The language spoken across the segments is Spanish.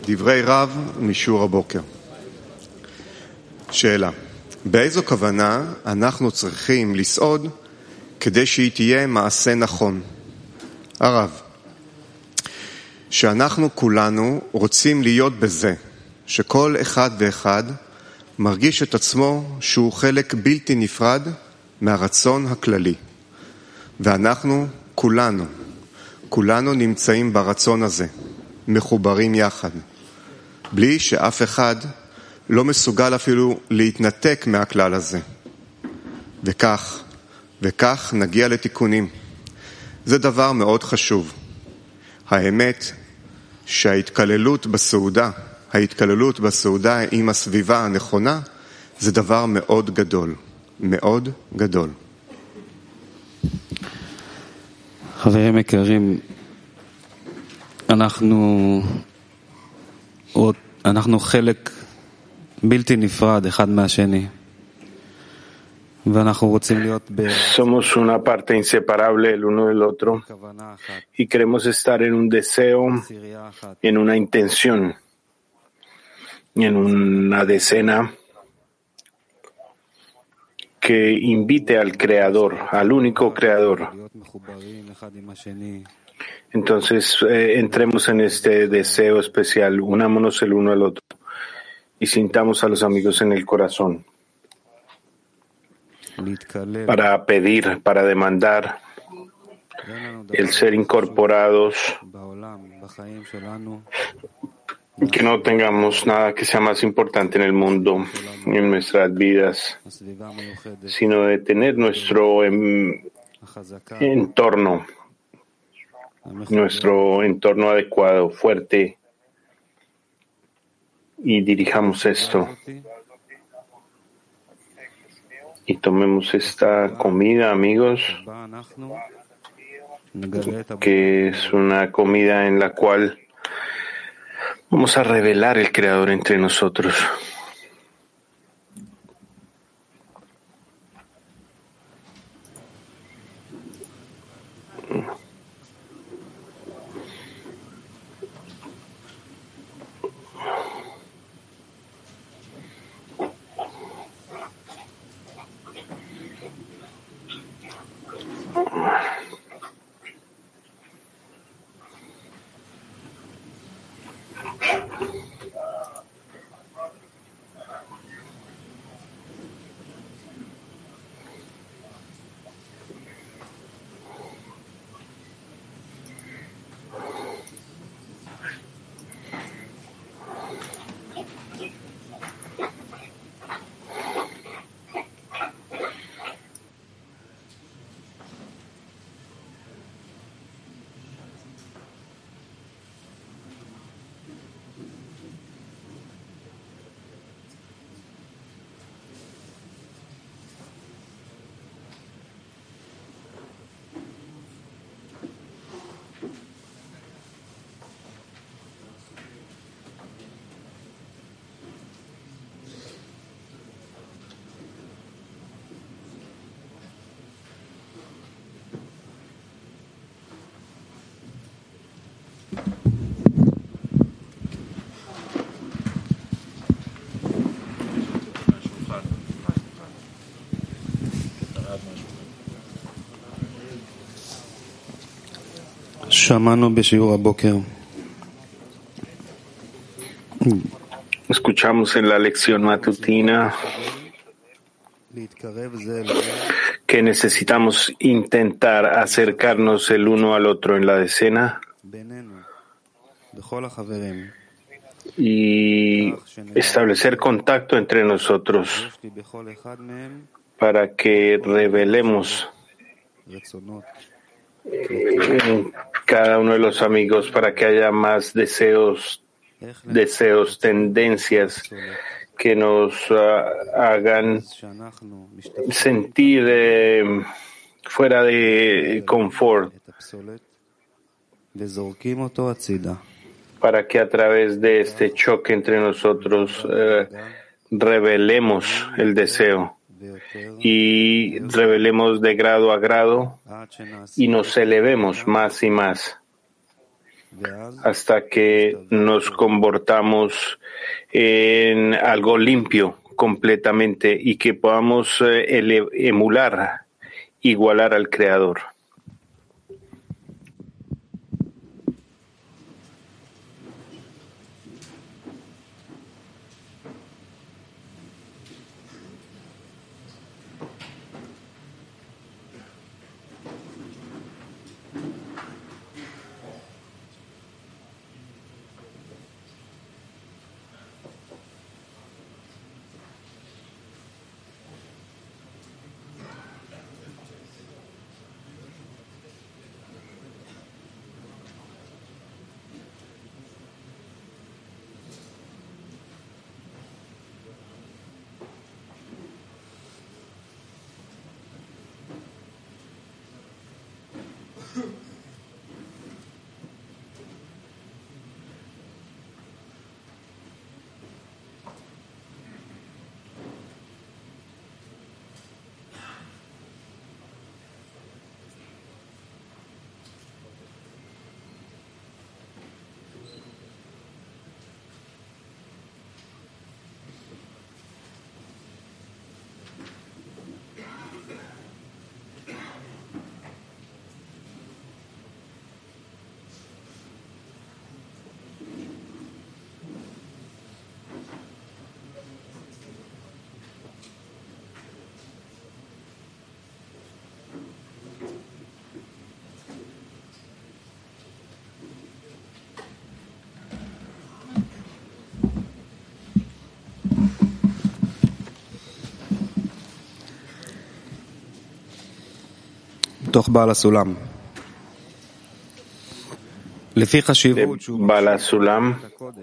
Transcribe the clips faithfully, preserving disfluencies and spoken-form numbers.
דברי רב משיעור הבוקר. שאלה, באיזו כוונה אנחנו צריכים לסעוד כדי שהיא תהיה מעשה נכון? הרב, שאנחנו כולנו רוצים להיות בזה, שכל אחד ואחד מרגיש את עצמו שהוא חלק בלתי נפרד מהרצון הכללי. ואנחנו כולנו, כולנו נמצאים ברצון הזה, מחוברים יחד, בלי שאף אחד לא מסוגל אפילו להתנתק מהכלל הזה. וכך, וכך נגיע לתיקונים. זה דבר מאוד חשוב. האמת שההתקללות בסעודה, ההתקללות בסעודה עם הסביבה הנכונה, זה דבר מאוד גדול, מאוד גדול. חברים יקרים, אנחנו, אנחנו חלק בלתי נפרד אחד מהשני. Somos una parte inseparable el uno del otro y queremos estar en un deseo, en una intención, en una decena que invite al Creador, al único Creador. Entonces eh, entremos en este deseo especial, unámonos el uno al otro y sintamos a los amigos en el corazón. Para pedir, para demandar el ser incorporados, que no tengamos nada que sea más importante en el mundo, en nuestras vidas, sino de tener nuestro em, entorno, nuestro entorno adecuado, fuerte, y dirijamos esto. Y tomemos esta comida, amigos, que es una comida en la cual vamos a revelar el Creador entre nosotros. Escuchamos en la lección matutina que necesitamos intentar acercarnos el uno al otro en la decena y establecer contacto entre nosotros para que revelemos en cada uno de los amigos, para que haya más deseos, deseos, tendencias que nos uh, hagan sentir eh, fuera de confort, para que a través de este choque entre nosotros eh, revelemos el deseo y revelemos de grado a grado y nos elevemos más y más hasta que nos convertamos en algo limpio completamente y que podamos ele- emular, igualar al Creador. דוח בעל הסולם. לפי חשיבות שהוא בעל הסולם,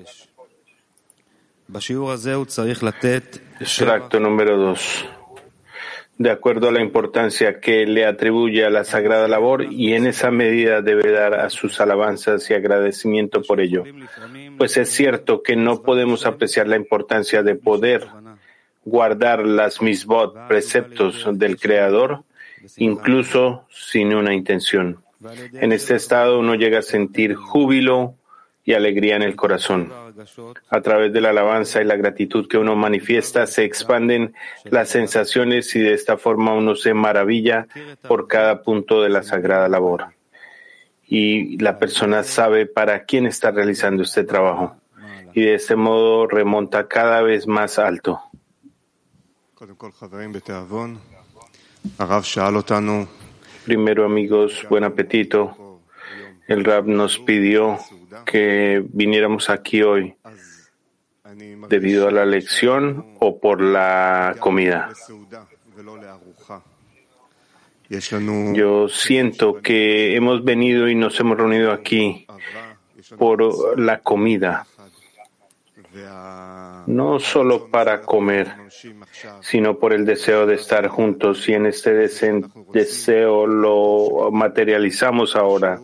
בשיעור הזה הוא צריך לתת extracto número dos. De acuerdo a la importancia que le atribuye a la sagrada labor, y en esa medida debe dar a sus alabanzas y agradecimiento por ello. Pues es cierto que no podemos apreciar la importancia de poder guardar las misbot, preceptos del Creador, incluso sin una intención. En este estado uno llega a sentir júbilo y alegría en el corazón. A través de la alabanza y la gratitud que uno manifiesta, se expanden las sensaciones y de esta forma uno se maravilla por cada punto de la sagrada labor. Y la persona sabe para quién está realizando este trabajo. Y de este modo remonta cada vez más alto. Primero, amigos, buen apetito. El Rab nos pidió que viniéramos aquí hoy debido a la lección o por la comida. Yo siento que hemos venido y nos hemos reunido aquí por la comida, no solo para comer, sino por el deseo de estar juntos, y en este deseo lo materializamos ahora.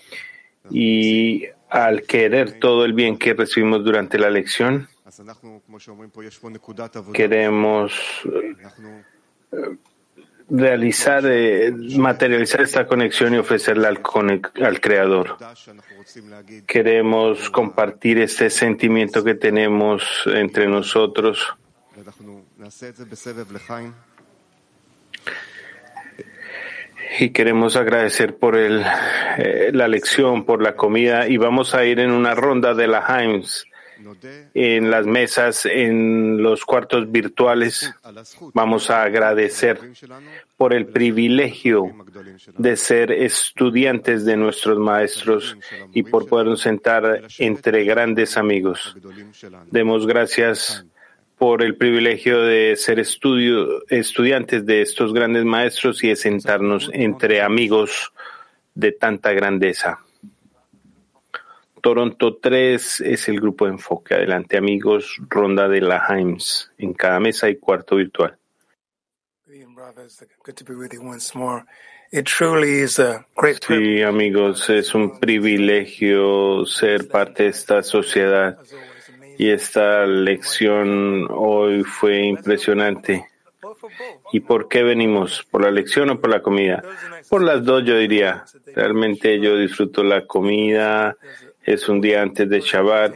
Y al querer todo el bien que recibimos durante la lección, queremos realizar, eh, materializar esta conexión y ofrecerla al, al Creador. Queremos compartir este sentimiento que tenemos entre nosotros. Y queremos agradecer por el, eh, la lección, por la comida, y vamos a ir en una ronda de la Haims, en las mesas, en los cuartos virtuales. Vamos a agradecer por el privilegio de ser estudiantes de nuestros maestros y por podernos sentar entre grandes amigos. Demos gracias por el privilegio de ser estudio, estudiantes de estos grandes maestros y de sentarnos entre amigos de tanta grandeza. Toronto tres es el grupo de enfoque. Adelante, amigos, ronda de la Haims. En cada mesa hay cuarto virtual. Sí, amigos, es un privilegio ser parte de esta sociedad. Y esta lección hoy fue impresionante. ¿Y por qué venimos? ¿Por la lección o por la comida? Por las dos, yo diría. Realmente yo disfruto la comida Es un día antes de Shabbat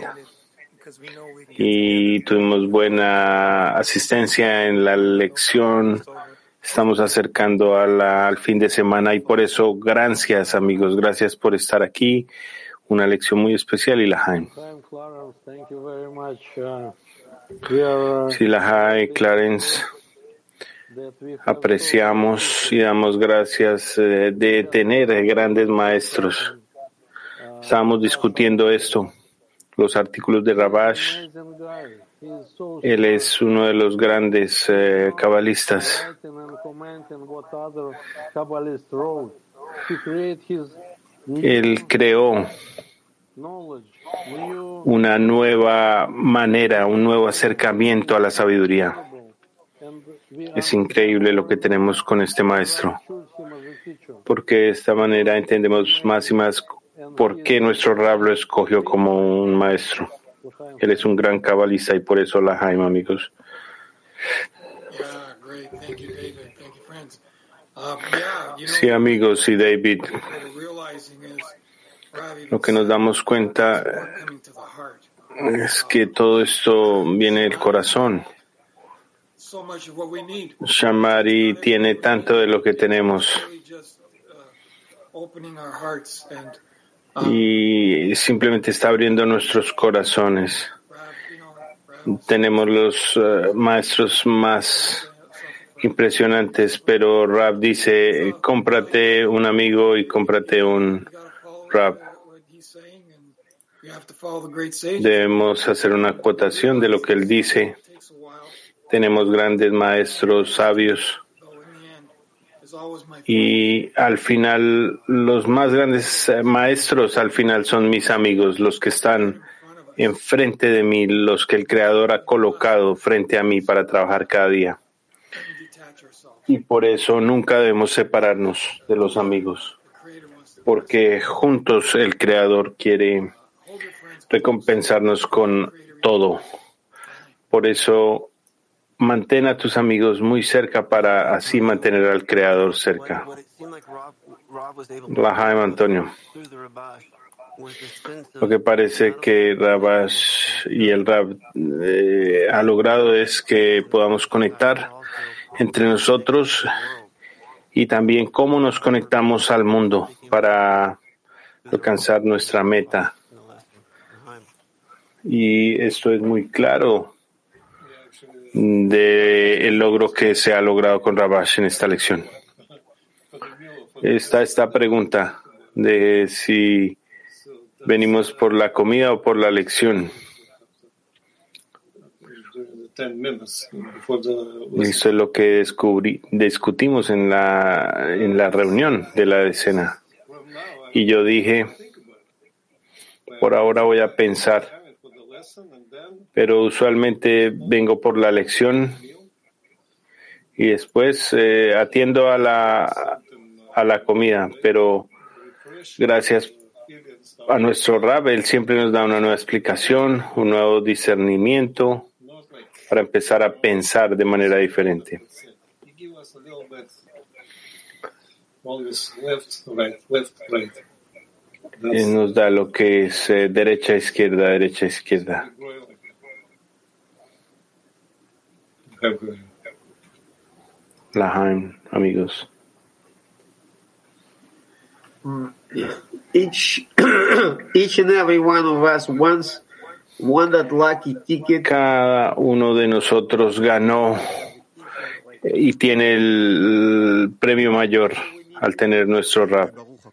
y tuvimos buena asistencia en la lección. Estamos acercando a la, al fin de semana y por eso, gracias amigos, gracias por estar aquí. Una lección muy especial y Lahaim. Sí, Lahaim, Clarence, apreciamos y damos gracias eh, de tener grandes maestros. Estábamos discutiendo esto, los artículos de Rabash. Él es uno de los grandes eh, cabalistas. Él creó una nueva manera, un nuevo acercamiento a la sabiduría. Es increíble lo que tenemos con este maestro, porque de esta manera entendemos más y más por qué nuestro Rab lo escogió como un maestro. Él es un gran cabalista y por eso Lahaim, amigos. Sí, amigos y David, lo que nos damos cuenta es que todo esto viene del corazón. Shamari tiene tanto de lo que tenemos y simplemente está abriendo nuestros corazones. Tenemos los uh, maestros más impresionantes, pero Rab dice, cómprate un amigo y cómprate un Rab. Debemos hacer una acotación de lo que él dice. Tenemos grandes maestros sabios y al final los más grandes maestros al final son mis amigos, los que están enfrente de mí, los que el Creador ha colocado frente a mí para trabajar cada día. Y por eso nunca debemos separarnos de los amigos, porque juntos el Creador quiere recompensarnos con todo. Por eso mantén a tus amigos muy cerca para así mantener al Creador cerca. Lahaim, Antonio. Lo que parece que Rabash y el Rab eh, ha logrado es que podamos conectar entre nosotros y también cómo nos conectamos al mundo para alcanzar nuestra meta. Y esto es muy claro del logro que se ha logrado con Rabash en esta lección. Está esta pregunta de si venimos por la comida o por la lección. Esto es lo que descubrí, discutimos en la, en la reunión de la decena. Y yo dije, por ahora voy a pensar, pero usualmente vengo por la lección y después eh, atiendo a la, a la comida, pero gracias a nuestro Rab, él siempre nos da una nueva explicación, un nuevo discernimiento para empezar a pensar de manera diferente. Él nos da lo que es eh, derecha, izquierda, derecha, izquierda. Lahaim, amigos. Each, each and every one of us wants won that lucky ticket. Cada uno de nosotros ganó y tiene el premio mayor al tener nuestro Rab.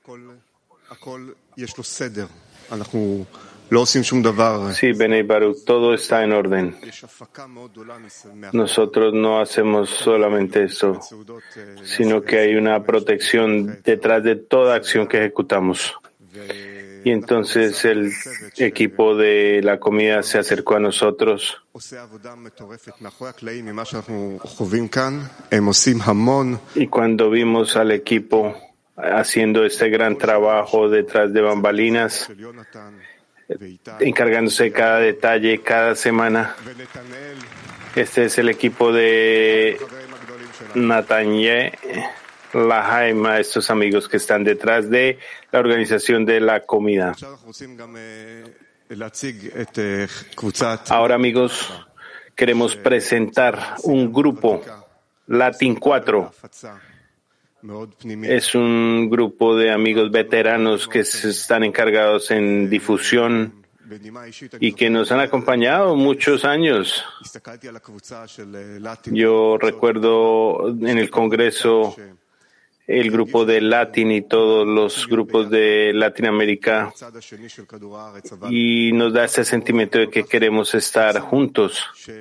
Sí, Benei Baruch, todo está en orden. Nosotros no hacemos solamente eso, sino que hay una protección detrás de toda acción que ejecutamos. Y entonces el equipo de la comida se acercó a nosotros y cuando vimos al equipo haciendo este gran trabajo detrás de bambalinas, encargándose de cada detalle cada semana, este es el equipo de Natanye Lahaim, a estos amigos que están detrás de la organización de la comida. Ahora, amigos, queremos presentar un grupo, Latin cuatro. Es un grupo de amigos veteranos que están encargados en difusión y que nos han acompañado muchos años. Yo recuerdo en el Congreso el grupo de Latin y todos los grupos de Latinoamérica, y nos da ese sentimiento de que queremos estar juntos.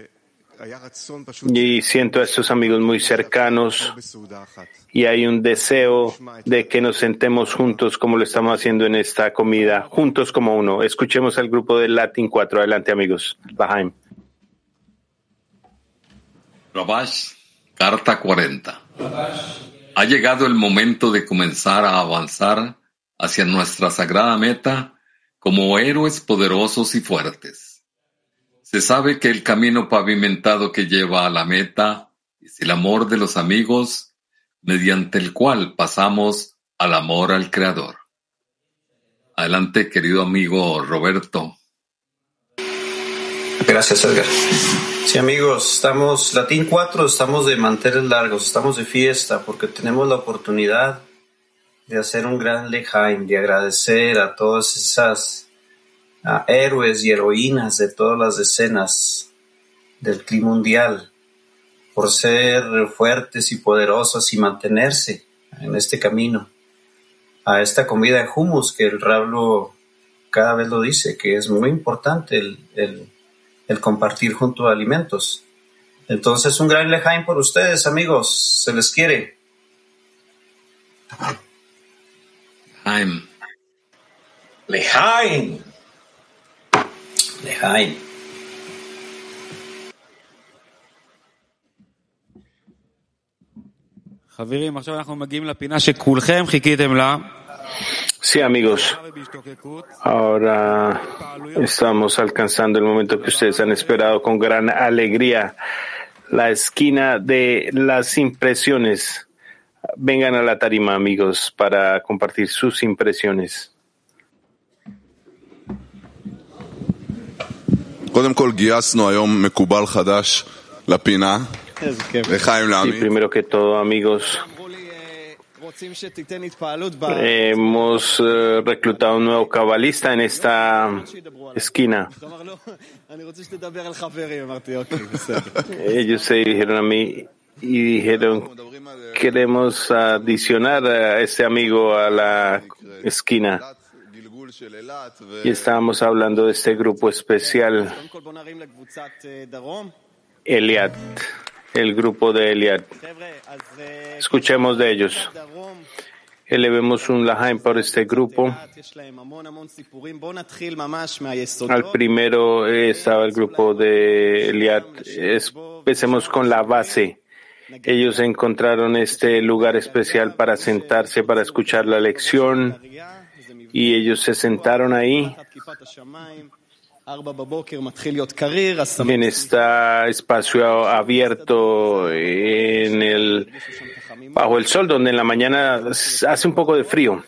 Y siento a estos amigos muy cercanos y hay un deseo de que nos sentemos juntos como lo estamos haciendo en esta comida, juntos como uno. Escuchemos al grupo de Latin cuatro. Adelante, amigos. Lahaim. Rabash, carta cuarenta. Ha llegado el momento de comenzar a avanzar hacia nuestra sagrada meta como héroes poderosos y fuertes. Se sabe que el camino pavimentado que lleva a la meta es el amor de los amigos, mediante el cual pasamos al amor al Creador. Adelante, querido amigo Roberto. Gracias, Edgar. Sí, amigos, estamos, Latin cuatro, estamos de manteles largos, estamos de fiesta porque tenemos la oportunidad de hacer un gran lejaim, de agradecer a todas esas a héroes y heroínas de todas las escenas del clima mundial por ser fuertes y poderosas y mantenerse en este camino a esta comida de hummus que el Rablo cada vez lo dice, que es muy importante el, el, el compartir junto a alimentos. Entonces, un gran lejaim por ustedes, amigos, se les quiere. Lejaim. Lejaim. Lejaim. חברים, עכשיו אנחנו מגיעים לפינה שכולכם חיכיתם לה. Sí, amigos, ahora estamos alcanzando el momento que ustedes han esperado con gran alegría, la esquina de las impresiones. Vengan a la tarima, amigos, para compartir sus impresiones. קודם כל גייסנו היום מקובל חדש לפינה. לחיים לעמי. Sí, primero que todo, amigos, hemos uh, reclutado un nuevo cabalista en esta esquina. Ellos se dirigieron a mí y dijeron, queremos adicionar a este amigo a la esquina. Y estábamos hablando de este grupo especial, Eliad, el grupo de Eliad. Escuchemos de ellos. Elevemos un lahaim por este grupo. Al primero estaba el grupo de Eliad. Empecemos con la base. Ellos encontraron este lugar especial para sentarse, para escuchar la lección, y ellos se sentaron ahí en este espacio abierto en el, bajo el sol, donde en la mañana hace un poco de frío.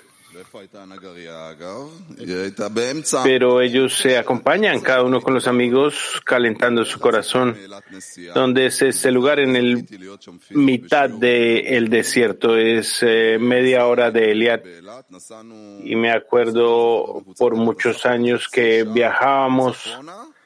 Pero ellos se acompañan, cada uno con los amigos, calentando su corazón. Donde es este lugar? En el mitad del desierto, es eh, media hora de Eliad. Y me acuerdo por muchos años que viajábamos,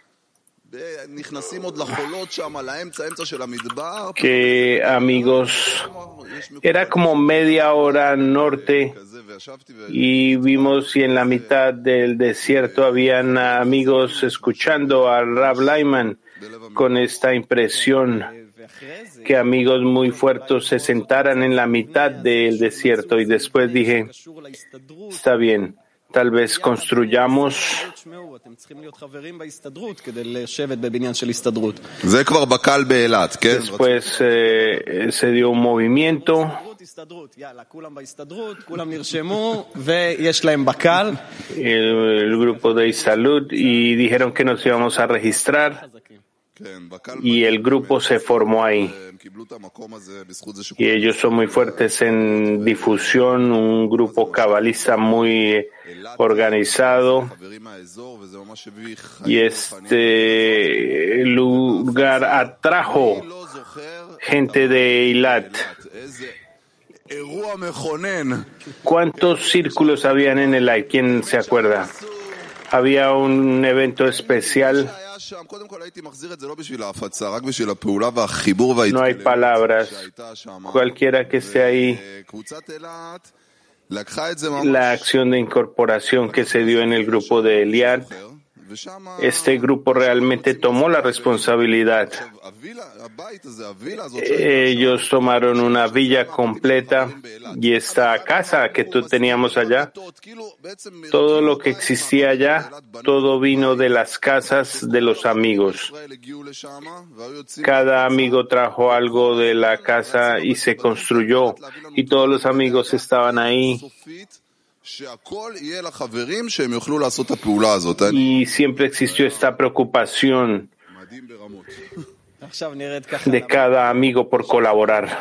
que amigos, era como media hora norte, y vimos y en la mitad del desierto habían amigos escuchando al Rab Lyman con esta impresión que amigos muy fuertes se sentaran en la mitad del desierto, y después dije, está bien, tal vez construyamos. Después eh, se dio un movimiento. El, el grupo de Salud, y dijeron que nos íbamos a registrar. y el grupo se formó ahí. Y ellos son muy fuertes en difusión, un grupo cabalista muy organizado. Y este lugar atrajo gente de Eilat. ¿Cuántos círculos habían en el aire? ¿Quién se acuerda? Había un evento especial. No hay palabras. Cualquiera que esté ahí, la acción de incorporación que se dio en el grupo de Eliad, este grupo realmente tomó la responsabilidad. Ellos tomaron una villa completa y esta casa que tú teníamos allá, todo lo que existía allá, todo vino de las casas de los amigos. Cada amigo trajo algo de la casa y se construyó y todos los amigos estaban ahí. Y siempre existió esta preocupación de cada amigo por colaborar.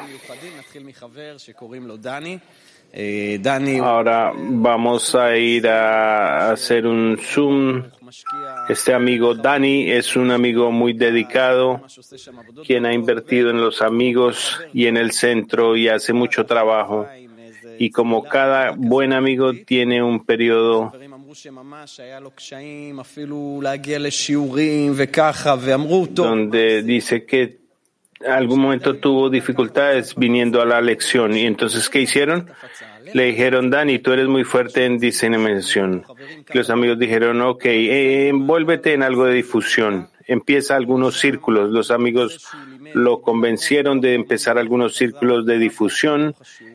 Ahora vamos a ir a hacer un Zoom. Este amigo Dani es un amigo muy dedicado, quien ha invertido en los amigos y en el centro y hace mucho trabajo. Y como cada buen amigo tiene un periodo donde dice que en algún momento tuvo dificultades viniendo a la lección. Y entonces, ¿qué hicieron? Le dijeron, Dani, tú eres muy fuerte en diseminación. Los amigos dijeron, ok, eh, envuélvete en algo de difusión. Empieza algunos círculos. Los amigos lo convencieron de empezar algunos círculos de difusión,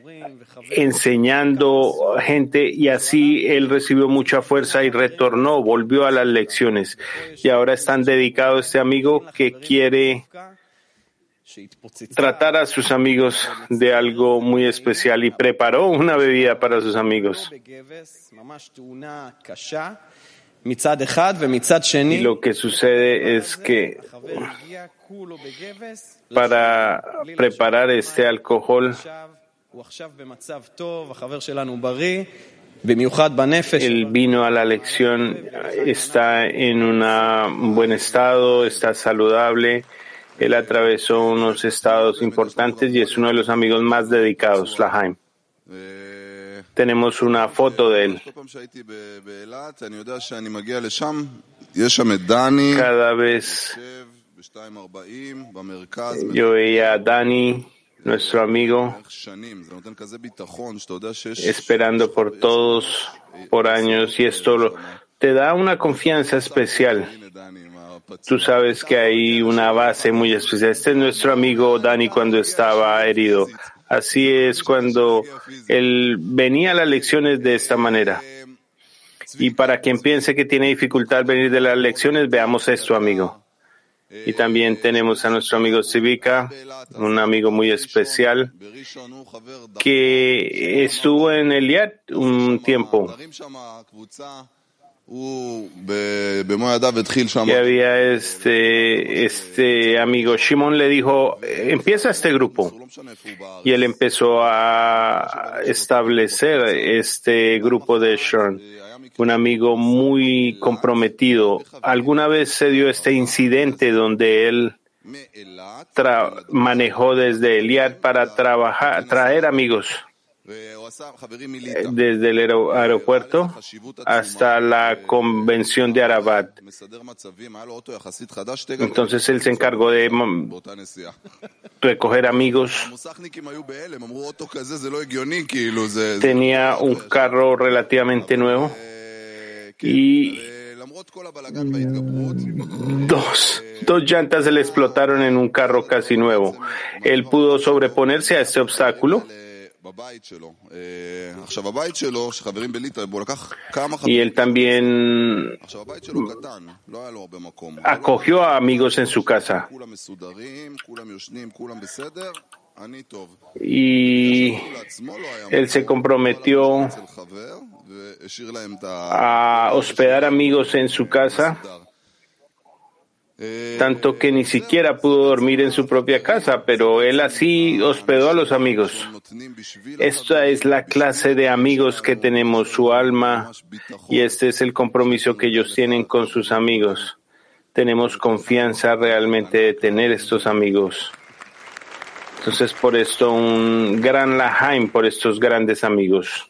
enseñando gente, y así él recibió mucha fuerza y retornó, volvió a las lecciones. Y ahora es tan dedicado este amigo que quiere tratar a sus amigos de algo muy especial y preparó una bebida para sus amigos. Y lo que sucede es que para preparar este alcohol, él vino a la lección, está en un buen estado, está saludable. Él atravesó unos estados importantes y es uno de los amigos más dedicados, Lahaim. Tenemos una foto de él. Cada vez yo veía a Dani, nuestro amigo, esperando por todos por años, y esto te da una confianza especial. Tú sabes que hay una base muy especial. Este es nuestro amigo Dani cuando estaba herido. Así es cuando él venía a las lecciones de esta manera. Y para quien piense que tiene dificultad al venir de las lecciones, veamos esto, amigo. Y también tenemos a nuestro amigo Civica, un amigo muy especial, que estuvo en Eliad un tiempo. Que había este, este amigo Shimon le dijo, empieza este grupo. Y él empezó a establecer este grupo de Shon. Un amigo muy comprometido. Alguna vez se dio este incidente donde él tra- manejó desde Eliad para trabajar, traer amigos desde el aer- aeropuerto hasta la convención de Arabat. Entonces él se encargó de recoger amigos. Tenía un carro relativamente nuevo y dos, dos llantas se le explotaron en un carro casi nuevo. Él pudo sobreponerse a este obstáculo. Y él también acogió a amigos en su casa. Y él se comprometió a hospedar amigos en su casa. tanto que ni siquiera pudo dormir en su propia casa, pero él así hospedó a los amigos. Esta es la clase de amigos que tenemos, su alma, y este es el compromiso que ellos tienen con sus amigos. Tenemos confianza realmente de tener estos amigos. Entonces, por esto, un gran lahaim por estos grandes amigos.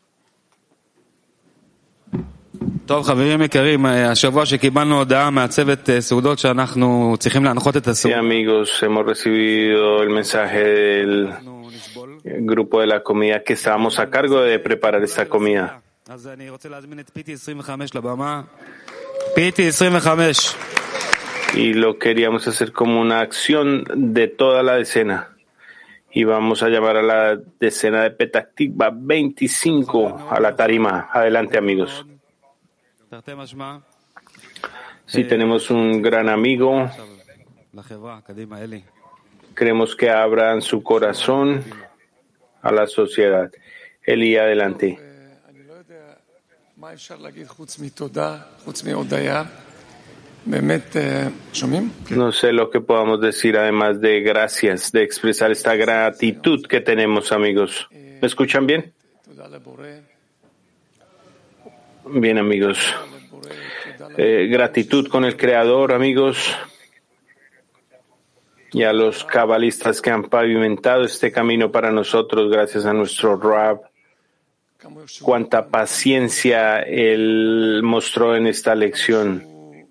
טוב, חברים יקרים, השבוע שקיבלנו הודעה מהצוות סעודות שאנחנו צריכים להנחות את הסעודות. Sí, amigos, hemos recibido el mensaje del grupo de la comida que estábamos a cargo de preparar esta comida. אז אני רוצה להזמין את פיטי עשרים וחמש לבמה. פיטי עשרים וחמש. Y lo queríamos hacer como una acción de toda la decena. Y vamos a llamar a la decena de Petah Tikva veinticinco a la tarima. Adelante, amigos. Si tenemos un gran amigo, queremos que abran su corazón a la sociedad. Eli, adelante. No sé lo que podamos decir además de gracias, de expresar esta gratitud que tenemos, amigos. ¿Me escuchan bien? Bien, amigos. Eh, gratitud con el Creador, amigos, y a los cabalistas que han pavimentado este camino para nosotros, gracias a nuestro Rab. Cuánta paciencia él mostró en esta lección.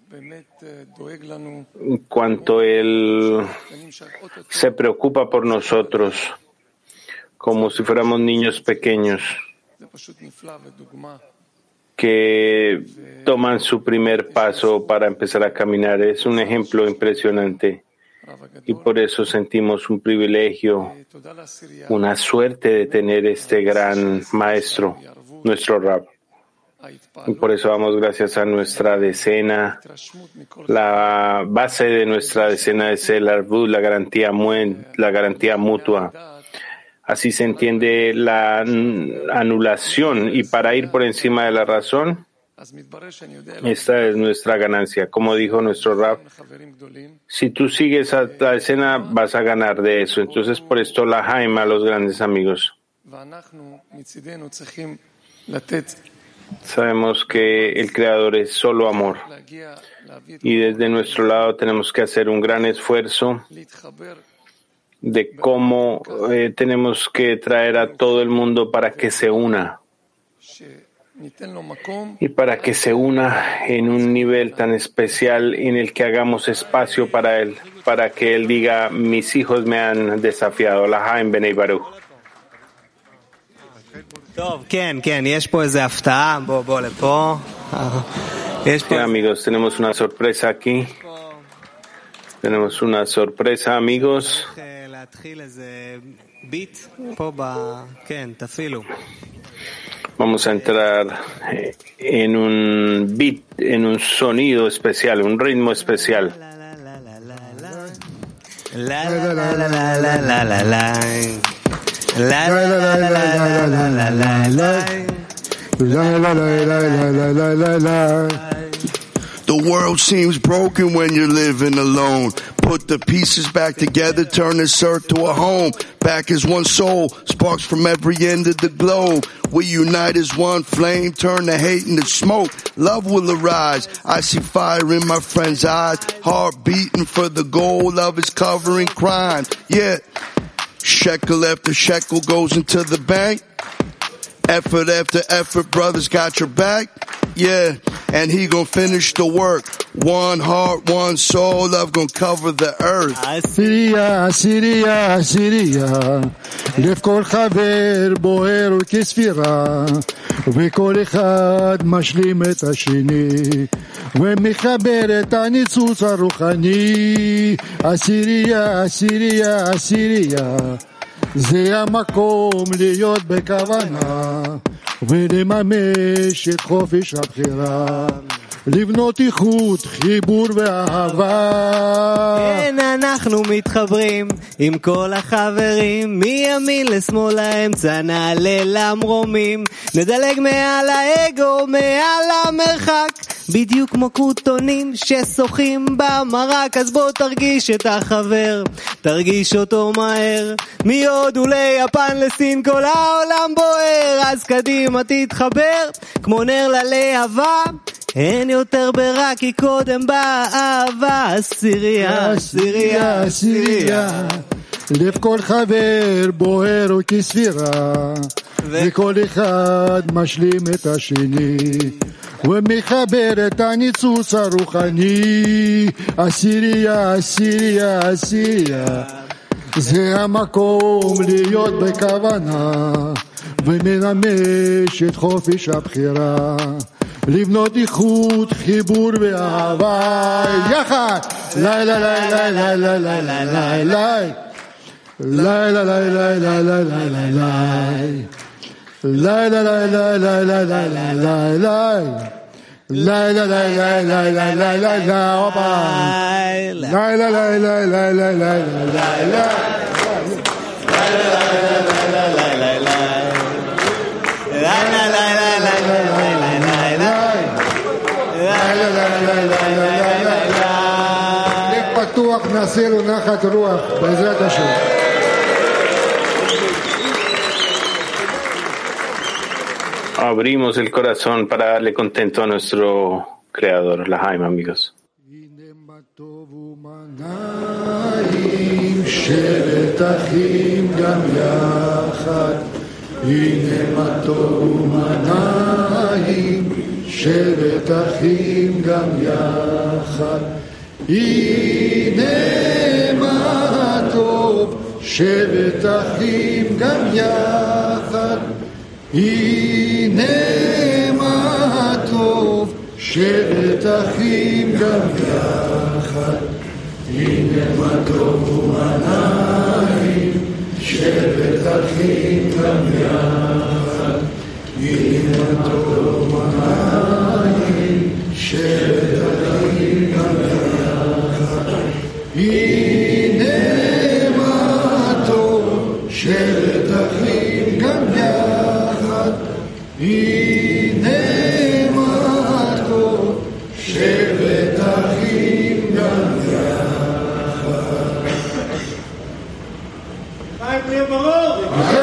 Cuánto él se preocupa por nosotros, como si fuéramos niños pequeños que toman su primer paso para empezar a caminar. Es un ejemplo impresionante y por eso sentimos un privilegio, una suerte de tener este gran maestro, nuestro Rab. Y por eso damos gracias a nuestra decena. La base de nuestra decena es el Arvud, la garantía, la garantía mutua. Así se entiende la anulación, y para ir por encima de la razón, esta es nuestra ganancia. Como dijo nuestro Rab, si tú sigues a la escena vas a ganar de eso. Entonces, por esto la jaima a los grandes amigos. Sabemos que el Creador es solo amor, y desde nuestro lado tenemos que hacer un gran esfuerzo de cómo eh, tenemos que traer a todo el mundo para que se una y para que se una en un nivel tan especial en el que hagamos espacio para él, para que él diga: mis hijos me han desafiado. Lahaim Benei Baruch. Sí, amigos, tenemos una sorpresa aquí. Tenemos una sorpresa, amigos. Vamos a entrar en un beat, en un sonido especial, un ritmo especial. The world seems broken when you're living alone. Put the pieces back together, turn this earth to a home. Back as one soul, sparks from every end of the globe. We unite as one flame, turn the hate into smoke. Love will arise. I see fire in my friend's eyes. Heart beating for the goal, love is covering crime. Yeah, shekel after shekel goes into the bank. Effort after effort, brothers got your back. Yeah, and he gon' finish the work. One heart, one soul, love gon' cover the earth. עשירייה, עשירייה, עשירייה, לב כל חבר בוער כספירה, וכל אחד משלים את השני, ומחבר את הניצוץ הרוחני. עשירייה, עשירייה, עשירייה, זה המקום להיות בכוונה, ולממש את חופש הבחירה, לבנות איכות, חיבור ואהבה. כן, אנחנו מתחברים עם כל החברים, מימין לשמאל לאמצע נעלה למרומים, נדלג מעל האגו, מעל המרחק, בדיוק כמו קרוטונים ששוחים במרק, אז בוא תרגיש את החבר, תרגיש אותו מהר, מהודו ליפן לסין כל העולם בוער, אז קדימה תתחבר כמו נר ללהבה, אין יותר ברע כי קודם באה אהבה. עשירייה, עשירייה, עשירייה, לב כל חבר בוער וכספירה, וכל אחד משלים את השני ומחבר את הניצוץ הרוחני. עשירייה, עשירייה, עשירייה, זה המקום להיות בכוונה ומנמש את חופש הבחירה, לבנות איכות, חיבור ואהבה יחד. לילה לילה לילה לילה לילה לילה לילה לילה לילה לילה לילה לילה לילה לילה לילה לילה לילה אופה לילה לילה לילה לילה לילה פתוח, נעשה לו נחת רוח בעזרת השם. Abrimos el corazón para darle contento a nuestro Creador, la Jaime, amigos. שבת אחים גם יחד, הנה מה טוב ומנעים, שבת אחים גם יחד, הנה מה טוב, שבת אחים גם יחד, הנה מה טוב, שבת אחים גם יחד, הנה מה טוב ומנעים, שבת אחים גם יחד, הנה מה טוב ומנעים, שבת אחים גם יחד, הנה מה טוב, שבת אחים גם יחד, הנה מה טוב, שבת אחים גם יחד. חיים, תהיה ברור!